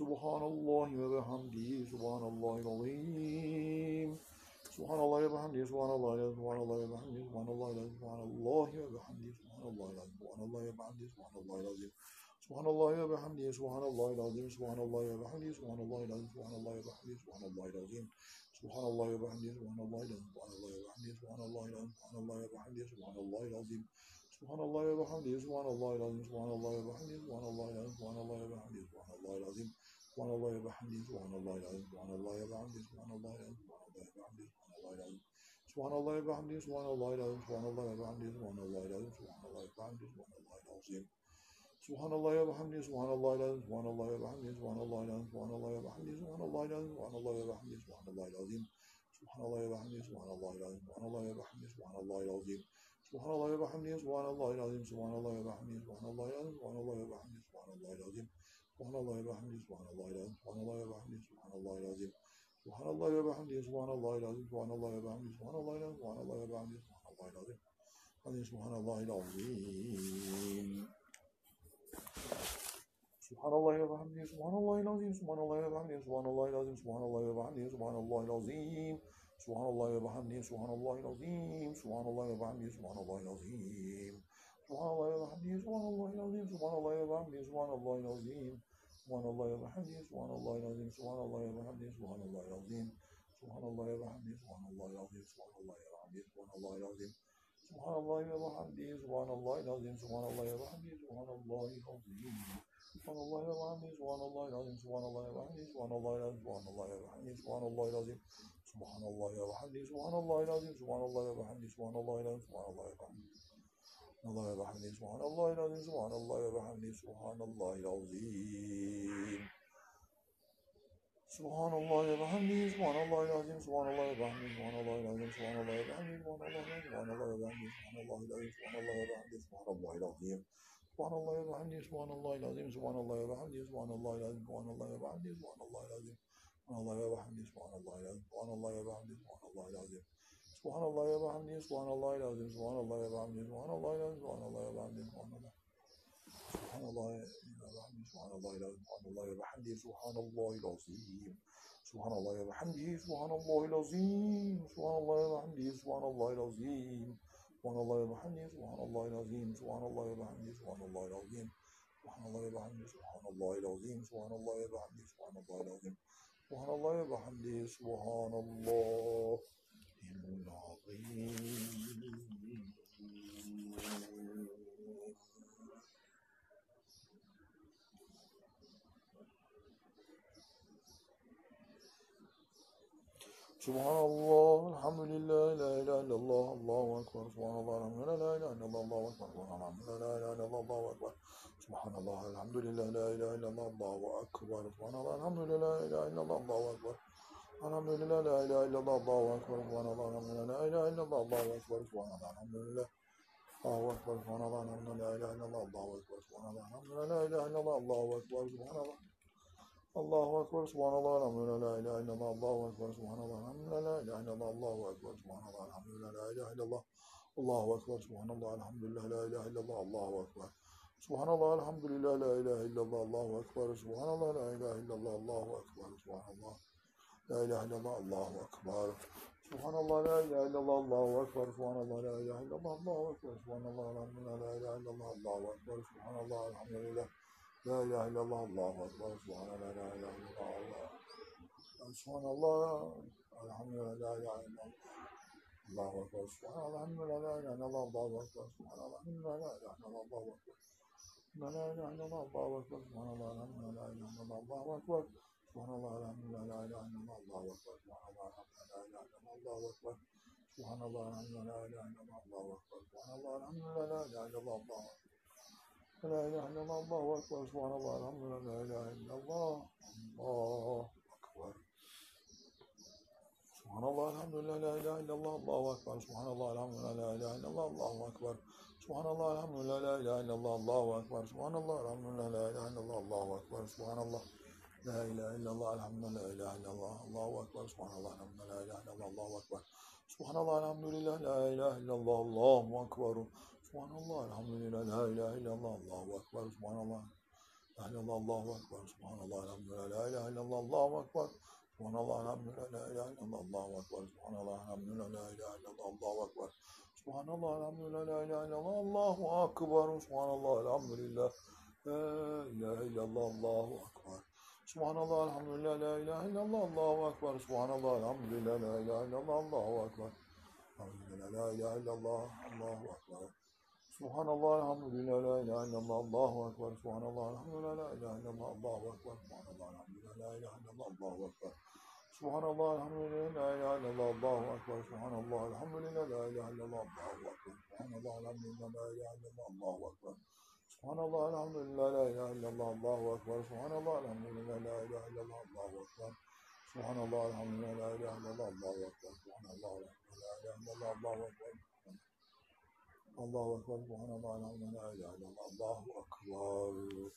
Subhanallahi ve bihamdihi, subhanallahil azim. Subhanallahi ve bihamdihi, subhanallahi ve bihamdihi, subhanallahi ve bihamdihi, subhanallahi ve bihamdihi, subhanallahi azim. Subhanallahi ve bihamdihi, subhanallahi azim, subhanallahi ve bihamdihi, subhanallahi azim, subhanallahi ve bihamdihi, subhanallahi azim. Subhanallahi ve bihamdihi, subhanallahi azim, subhanallahi ve bihamdihi, subhanallahi azim, subhanallahi ve bihamdihi, subhanallahi azim. Subhanallah ve bihamdihi, subhanallah azim, subhanallah ve bihamdihi, subhanallah azim, subhanallah ve bihamdihi, subhanallah azim. Subhanallah ve bihamdihi, subhanallah azim, subhanallah ve bihamdihi, subhanallah azim, subhanallah ve bihamdihi, subhanallah azim, subhanallah ve bihamdihi, subhanallah azim, subhanallah ve bihamdihi, subhanallah azim. Subhanallah ve bihamdihi, subhanallah azim, subhanallah ve bihamdihi, subhanallah azim, subhanallah ve bihamdihi, subhanallah azim, subhanallah ve bihamdihi, subhanallah azim. Subhanallah ve bihamdihi, subhanallah azim, subhanallah ve bihamdihi, subhanallah azim. Subhanallah ve bihamdihi, subhanallah azim, subhanallah ve bihamdihi, subhanallah azim, subhanallah ve bihamdihi, subhanallah azim. Subhanallah ve bihamdihi, subhanallah azim, subhanallah ve bihamdihi, subhanallah azim. Subhanallah ve bihamdihi, subhanallah azim, subhanallah ve bihamdihi, subhanallah azim, subhanallah ve bihamdihi, subhanallah azim. Hadi subhanallahil azim. Subhanallah ve bihamdihi, subhanallahil azim, subhanallah ve bihamdihi, subhanallahil azim, subhanallah ve bihamdihi, subhanallahil azim. Subhanallah ve bihamdihi, subhanallahil azim, subhanallah ve bihamdihi, subhanallahil azim. Subhanallah ve bihamdihi, subhanallahil azim, subhanallah ve bihamdihi, subhanallahil azim. Subhanallah ve bihamdihi, subhanallahil azim, subhanallah ve bihamdihi, subhanallahil azim. Subhanallah ve bihamdihi, subhanallahil azim, subhanallah ve bihamdihi, subhanallahil azim. Subhanallah ve bihamdihi, subhanallahil azim, subhanallah ve bihamdihi, subhanallahil azim. Subhanallah ve bihamdihi, subhanallahil azim, subhanallah ve bihamdihi, subhanallahil azim, subhanallah ve bihamdihi, subhanallahil azim. Subhanallah ve bihamdihi, subhanallahil azim, subhanallah ve bihamdihi, subhanallahil azim, subhanallah ve bihamdihi. Allah ve bihamdihi, subhanallahil azim, subhanallah ve bihamdihi, subhanallahil azim. Subhanallah ve bihamdihi, subhanallahil azim, subhanallah ve bihamdihi, subhanallahil azim, subhanallah ve bihamdihi, subhanallah ve bihamdihi, subhanallah ve bihamdihi, subhanallah ve bihamdihi, subhanallahil azim. Subhanallah ve bihamdihi, subhanallahil azim, subhanallah ve bihamdihi, subhanallahil azim, subhanallah ve bihamdihi, subhanallahil azim. Subhanallah ve bihamdihi, subhanallahil azim, subhanallah ve bihamdihi, subhanallahil azim. Subhanallah ve bihamdihi, subhanallahil azim, subhanallah ve bihamdihi, subhanallahil azim, subhanallah ve bihamdihi, subhanallah. Subhanallah ve bihamdihi, subhanallahil azim, subhanallah ve bihamdihi, subhanallahil azim. Subhanallah ve bihamdihi, subhanallahil azim, subhanallah ve bihamdihi, subhanallahil azim. Subhanallah ve bihamdihi, subhanallahil azim, subhanallah ve bihamdihi, subhanallahil azim. Subhanallah ve bihamdihi, subhanallahil azim, subhanallah ve bihamdihi, subhanallahil azim. Subhanallah ve bihamdihi, subhanallahil azim. Subhanallah, elhamdülillah, la ilahe illallah, Allahu ekber. Subhanallah, elhamdülillah, la ilahe illallah, Allahu ekber. Subhanallah, la ilahe illallah, Allahu ekber. Subhanallah, elhamdülillah, la ilahe illallah, Allahu ekber. Subhanallah, elhamdülillah, la ilahe illallah, Allahu ekber. Elhamdülillah, la ilahe illallah, Allahu ekber. Subhanallah, elhamdülillah, la ilahe illallah, Allahu ekber. Subhanallah, elhamdülillah, Allahu ekber. Subhanallah, elhamdülillah, la ilahe illallah, Allahu ekber. Subhanallah, elhamdülillah, la ilahe illallah, Allahu ekber. Subhanallah. Allahu Ekber, subhanallah, elhamdülillah, la ilahe illallah, Allahu Ekber, subhanallah, elhamdülillah, la ilahe illallah, Allahu Ekber, subhanallah, elhamdülillah, la ilahe illallah, Allahu Ekber, subhanallah, elhamdülillah, la ilahe illallah, Allahu Ekber, subhanallah, elhamdülillah, la ilahe illallah, Allahu Ekber, subhanallah, la ilahe illallah, Allahu Ekber, subhanallah, la ilahe illallah, Allahu Ekber, subhanallah, la ilahe illallah, Allahu Ekber, subhanallah, la ilahe illallah, Allahu Ekber, subhanallah, elhamdülillah, la ilahe illallah, Allahu Ekber, subhanallah, elhamdülillah, la ilahe illallah, Allahu Ekber, subhanallah, la ilahe illallah, Allah. Subhanallah, elhamdülillah, la ilahe illallah, Allahu Ekber, subhanallah, elhamdülillah, la ilahe illallah, Allahu Ekber, subhanallah, elhamdülillah, la ilahe illallah, Allahu Ekber. La ilahe illallah, Allahu Ekber, subhanallah, elhamdülillah, la ilahe illallah, Allahu Ekber. Subhanallah, elhamdülillah, la ilahe illallah, Allahu Ekber, subhanallah, elhamdülillah, la ilahe illallah, Allahu Ekber. Subhanallah, elhamdülillah, la ilahe illallah, Allahu Ekber, subhanallah, elhamdülillah, la ilahe illallah, Allahu Ekber. La ilahe illallah, Allahu Ekber, subhanallah, elhamdülillah, la ilahe illallah, Allahu Ekber. Subhanallah, elhamdülillah, la ilahe illallah, Allahu Ekber, subhanallah, elhamdülillah, la ilahe illallah, Allahu Ekber. Subhanallah, elhamdülillah, la ilahe illallah, Allahu Ekber, subhanallah, elhamdülillah, la ilahe illallah, Allahu Ekber, subhanallah, la ilahe illallah, elhamdülillah, la ilahe illallah, Allahu Ekber, subhanallah, elhamdülillah, la ilahe illallah, Allahu Ekber. Subhanallah, elhamdülillah, la ilahe illallah, Allahu Ekber. Subhanallah, elhamdülillah, la ilahe illallah, Allahu Ekber, subhanallah, إله إلا الله الله أكبر سبحان الله الحمد لله لا إله إلا الله الله أكبر سبحان الله الحمد لله لا إله إلا الله الله أكبر سبحان الله الحمد لله لا إله إلا الله الله أكبر سبحان الله الحمد لله لا إله إلا الله الله أكبر سبحان الله الحمد لله لا إله إلا الله الله أكبر سبحان الله الحمد لله لا إله إلا الله الله أكبر سبحان الله الحمد لله لا إله إلا الله الله أكبر الحمد لله لا إله إلا الله الله أكبر سبحان الله الحمد لله لا إله إلا الله الله أكبر سبحان الله الحمد لله لا إله إلا الله الله أكبر سبحان الله الحمد لله لا إله إلا الله الله أكبر سبحان الله الحمد لله لا إله إلا الله الله أكبر سبحان الله الحمد لله لا إله إلا الله الله أكبر سبحان الله الحمد لله لا إله إلا الله الله أكبر سبحان الله الحمد لله لا إله إلا الله الله أكبر سبحان الله الحمد لله لا إله إلا الله الله أكبر سبحان الله الحمد لله لا إله إلا الله الله أكبر سبحان الله الحمد لله لا إله إلا الله الله أكبر الله أكبر سبحان الله الحمد لله لا إله إلا الله الله أكبر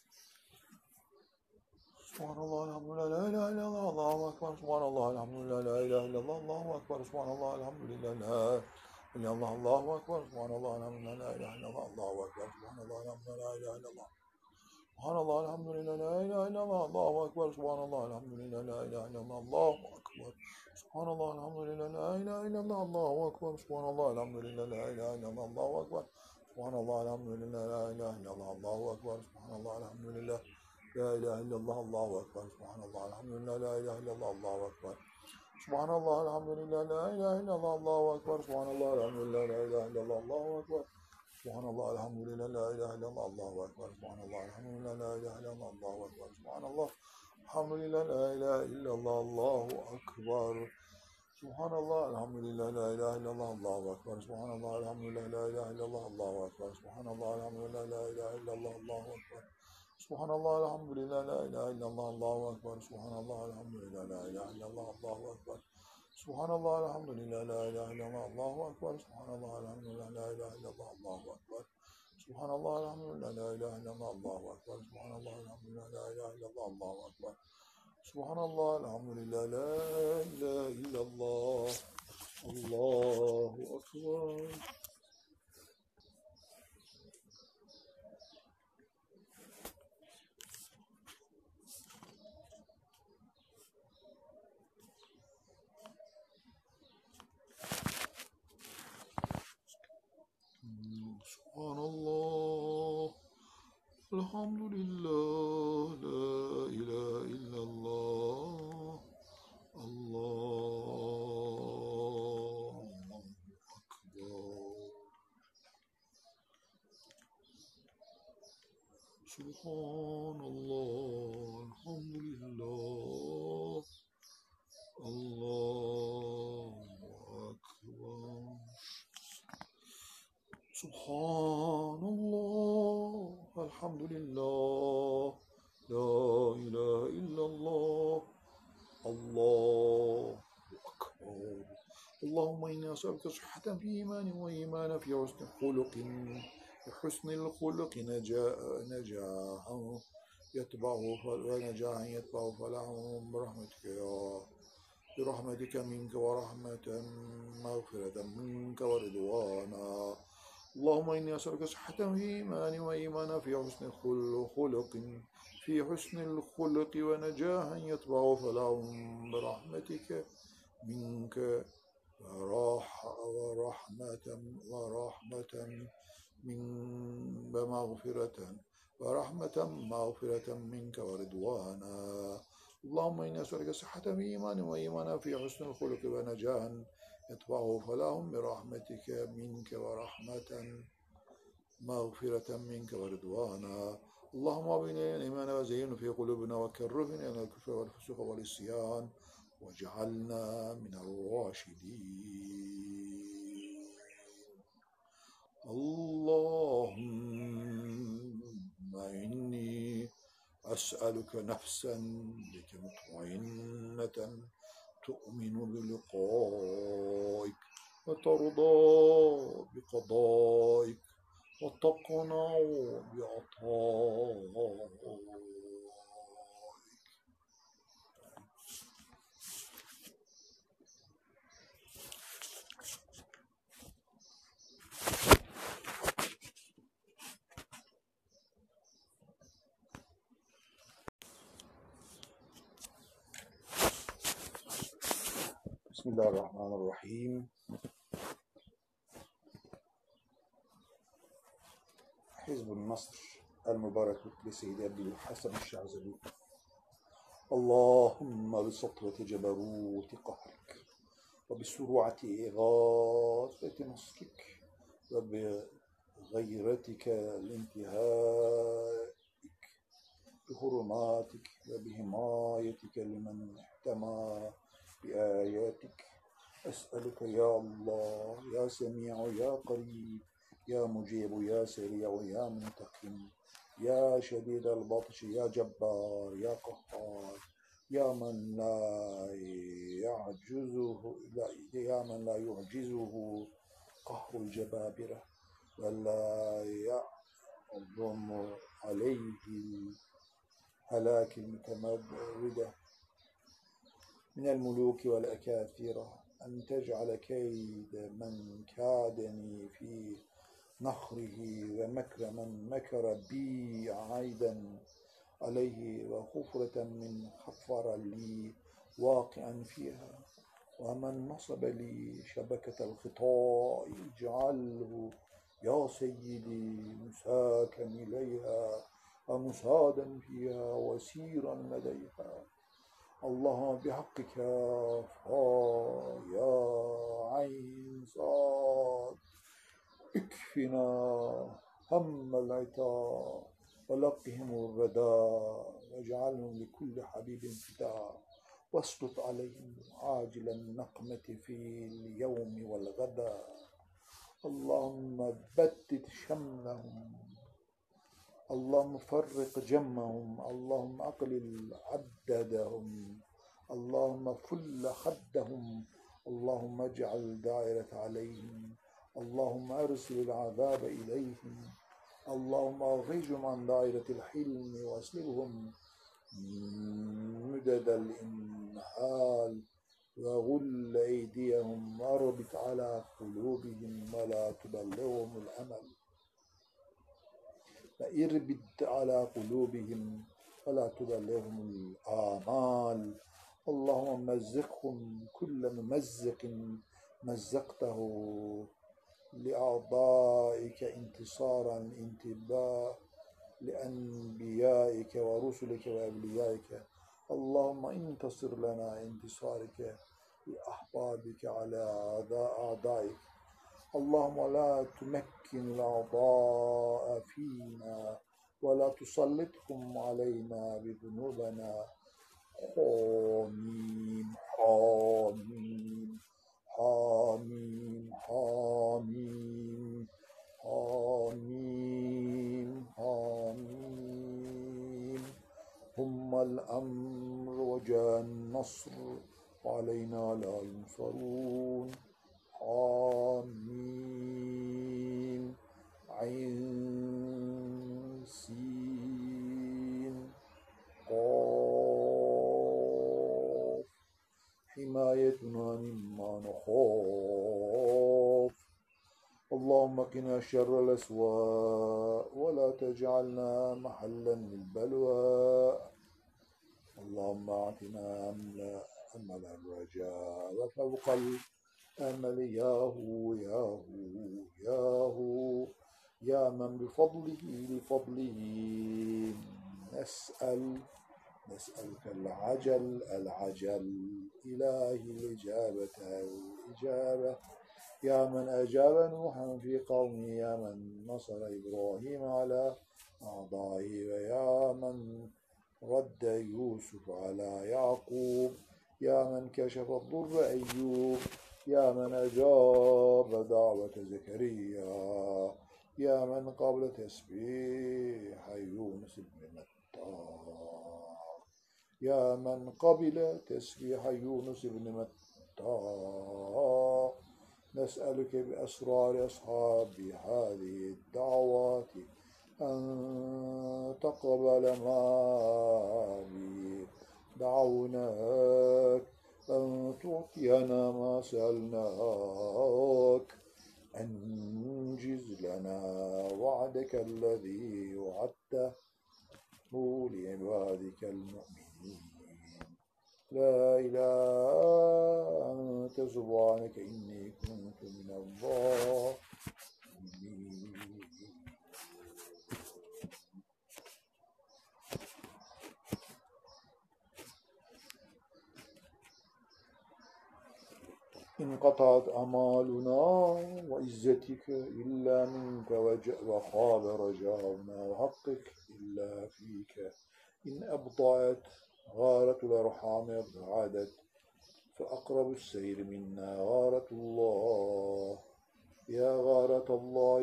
سبحان الله الحمد لله لا إله إلا الله الله أكبر سبحان الله الحمد لله لا إله إلا الله الله أكبر سبحان الله الحمد لله لا إلا الله الله أكبر سبحان الله الحمد لله لا إله إلا الله الله أكبر سبحان الله الحمد لله لا إله إلا الله سبحان الله الحمد لله لا إله إلا الله الله أكبر سبحان الله الحمد لله لا إله إلا الله الله أكبر سبحان الله الحمد لله لا إله إلا الله الله أكبر سبحان الله الحمد لله لا إله إلا الله الله أكبر سبحان الله الحمد لله لا إله إلا الله الله أكبر سبحان الله الحمد لله لا إله إلا الله الله أكبر سبحان الله الحمد لله لا إله إلا الله الله أكبر سبحان الله الحمد لله لا إله إلا الله الله أكبر سبحان الله الحمد لله لا إله إلا الله الله أكبر سبحان الله الحمد لله لا إله إلا الله الله أكبر سبحان الله الحمد لله لا إله إلا الله الله أكبر سبحان الله الحمد لله لا إله إلا الله الله أكبر سبحان الله الحمد لله لا إله إلا الله الله أكبر سبحان الله الحمد لله لا إله إلا الله الله أكبر سبحان الله الحمد لله لا إله إلا الله الله أكبر سبحان الله الحمد لله لا إله إلا الله الله أكبر سبحان الله الحمد لله لا إله إلا الله الله أكبر سبحان الله الحمد لله لا إله إلا الله الله أكبر سبحان الله الحمد لله لا إله إلا الله الله أكبر سبحان الله الحمد لله لا إله إلا الله الله أكبر سبحان الله الحمد لله لا إله إلا الله الله أكبر سبحان الله الحمد لله لا إله إلا الله الله أكبر سبحان الله الحمد لله لا إله إلا الله الله أكبر سبحان الله الحمد لله الله أكبر سبحان الله الحمد لله لا إله إلا الله الله أكبر اللهم إنا نسألك صحة في إيمان وإيمان في حسن خلق بحسن الخلق نجاحا يتبعه ونجاحا يتبعه فلاحا برحمتك منك ورحمة مغفرة منك ورضوانا اللهم إني أسألك صحة في إيمان وإيمانا في حسن خلق في حسن الخلق ونجاحا يتبع فلاحا برحمتك منك ورحمة مغفرة منك ورضوانا اللهم إني أسألك صحة في إيمان وإيمانا في حسن الخلق ونجاحا يتبعه فلاهم برحمتك منك ورحمة مغفرة منك ورضوانا اللهم أبنا الإيمان وزينه في قلوبنا وكرهنا إلى الكفر والفسوق والعصيان واجعلنا من الراشدين اللهم إني أسألك نفسا بك مطمئنة تؤمن بلقائك وترضى بقضائك وتقنع بعطائك بسم الله الرحمن الرحيم. حزب النصر المبارك لسيد أبي الحسن الشاذلي. اللهم بسطوة جبروت قهرك وبسرعة إغاثة نصرك وبغيرتك لانتهائك بحرماتك وبحمايتك لمن احتمى بآياتك. أسألك يا الله يا سميع يا قريب يا مجيب يا سريع يا منتقم يا شديد البطش يا جبار يا قهار يا من لا يعجزه قهر الجبابرة ولا يعظم عليه هلاك المتمردة من الملوك والأكاثر، أن تجعل كيد من كادني في نخره ومكر من مكر بي عيدا عليه وخفرة من خفر لي واقعا فيها، ومن نصب لي شبكة الخطاء اجعله يا سيدي مساكا إليها ومسادا فيها وسيرا لديها. اللهم بحقك يا عين صاد اكفنا هم العتاب ولقهم الرداء واجعلهم لكل حبيب فداء واسلط عليهم عاجل النقمة في اليوم والغداء. اللهم بدد شملهم، اللهم فرق جمهم، اللهم أقلل عددهم، اللهم فل حدهم، اللهم اجعل دائرة عليهم، اللهم أرسل العذاب إليهم، اللهم أخرجهم عن دائرة الحلم واسلبهم مدد الإنهال وغل أيديهم واربط على قلوبهم ولا تبلغهم الأمل واربط على قلوبهم ولا تبلغهم الآمال. اللهم مزقهم كل ممزق مزقته لأعضائك انتصارا انتباه لأنبيائك ورسلك وأوليائك. اللهم انتصر لنا انتصارك لأحبابك على أعدائك. اللهم لا تمكن الأعضاء فينا ولا تسلطهم علينا بذنوبنا. حميم حميم حميم حميم حميم حميم. هم الأمر وجاء النصر وعلينا لا ينصرون. حميم عين سين قاف. حمايتنا مما نخاف. اللهم قنا شر الأسواء ولا تجعلنا محلا للبلوى. اللهم أعطنا أمل الرجاء وفوق الأمل ياهو ياهو ياهو يا من لفضله نسألك العجل إلهي الإجابة يا من أجاب نوحا في قومه، يا من نصر إبراهيم على أعدائه، ويا من رد يوسف على يعقوب، يا من كشف الضر أيوب، يا من أجاب دعوة زكريا، يا من قبل تسبيح يونس بن متى، يا من قبل تسبيح يونس بن متى. نسألك بأسرار أصحاب هذه الدعوات أن تقبل ما دعوناك، أن تعطينا ما سألناك، أنجز لنا وعدك الذي وعدته لعبادك المؤمنين. لا إله أنت سبحانك إني كنت من الظالمين. انقطعت أمالنا وعزتك إلا منك وخاب رجاؤنا وحقك إلا فيك. إن أبطأت غارة الأرحام ابتعدت فأقرب السير منا غارة الله. يا غارة الله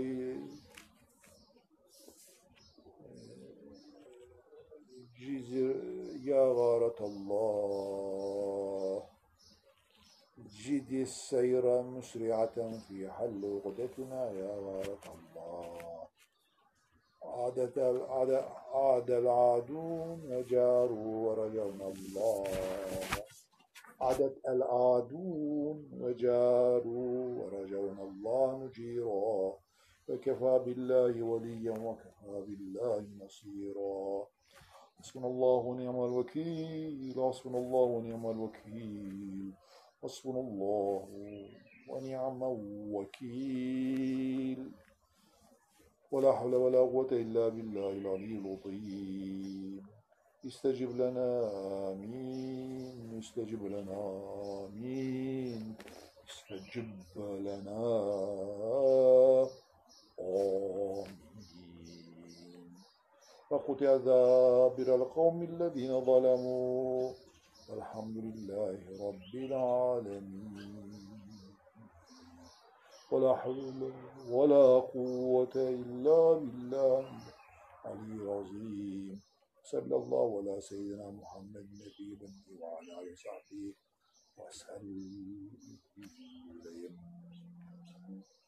يا غارة الله جد السير مسرعة في حل عقدتنا. يا غارة الله عاد العادون وجاروا ورجونا الله. عادت العادون وجاروا ورجونا الله نجيرا. وكفى بالله وليا وكفى بالله نصيرا. حسبنا الله ونعم الوكيل. حسبنا الله ونعم الوكيل. حسبنا الله ونعم الوكيل. ولا حول ولا قوة إلا بالله العلي العظيم. استجب لنا آمين. استجب لنا آمين. استجب لنا آمين. فقطع دابر القوم الذين ظلموا والحمد لله رب العالمين. ولا حول ولا قوة إلا بالله العلي العظيم. صلى الله على سيدنا محمد النبي الأمي وعلى آله وصحبه وسلم.